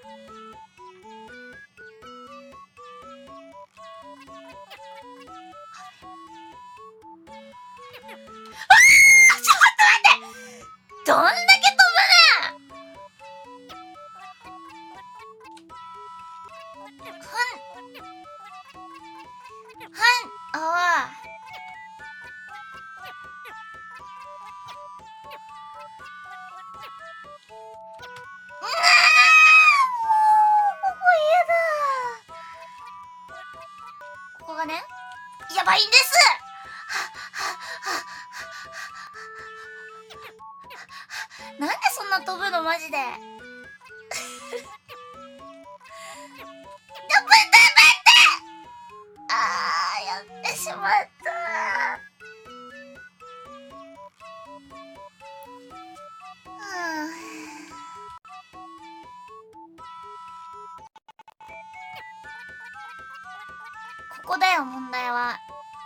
どんだけ飛ぶねあわここがねやばいんです。なんでそんな飛ぶのマジで。やってしまった。ここだよ問題は。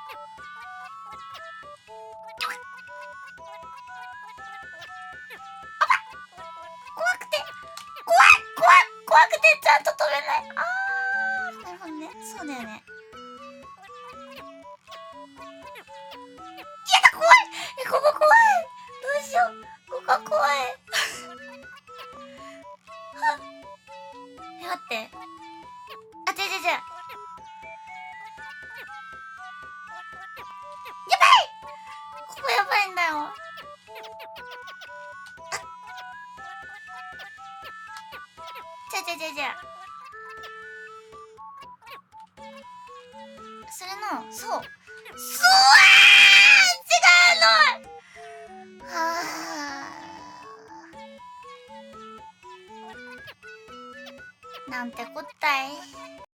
怖くてちゃんと飛べない。なるほどね。そうだよね。やだ怖い。ここ怖い。どうしよう。ここ怖い。待って。違う。やばい。ここやばいんだよ。それのそう違うの。なんてこったい。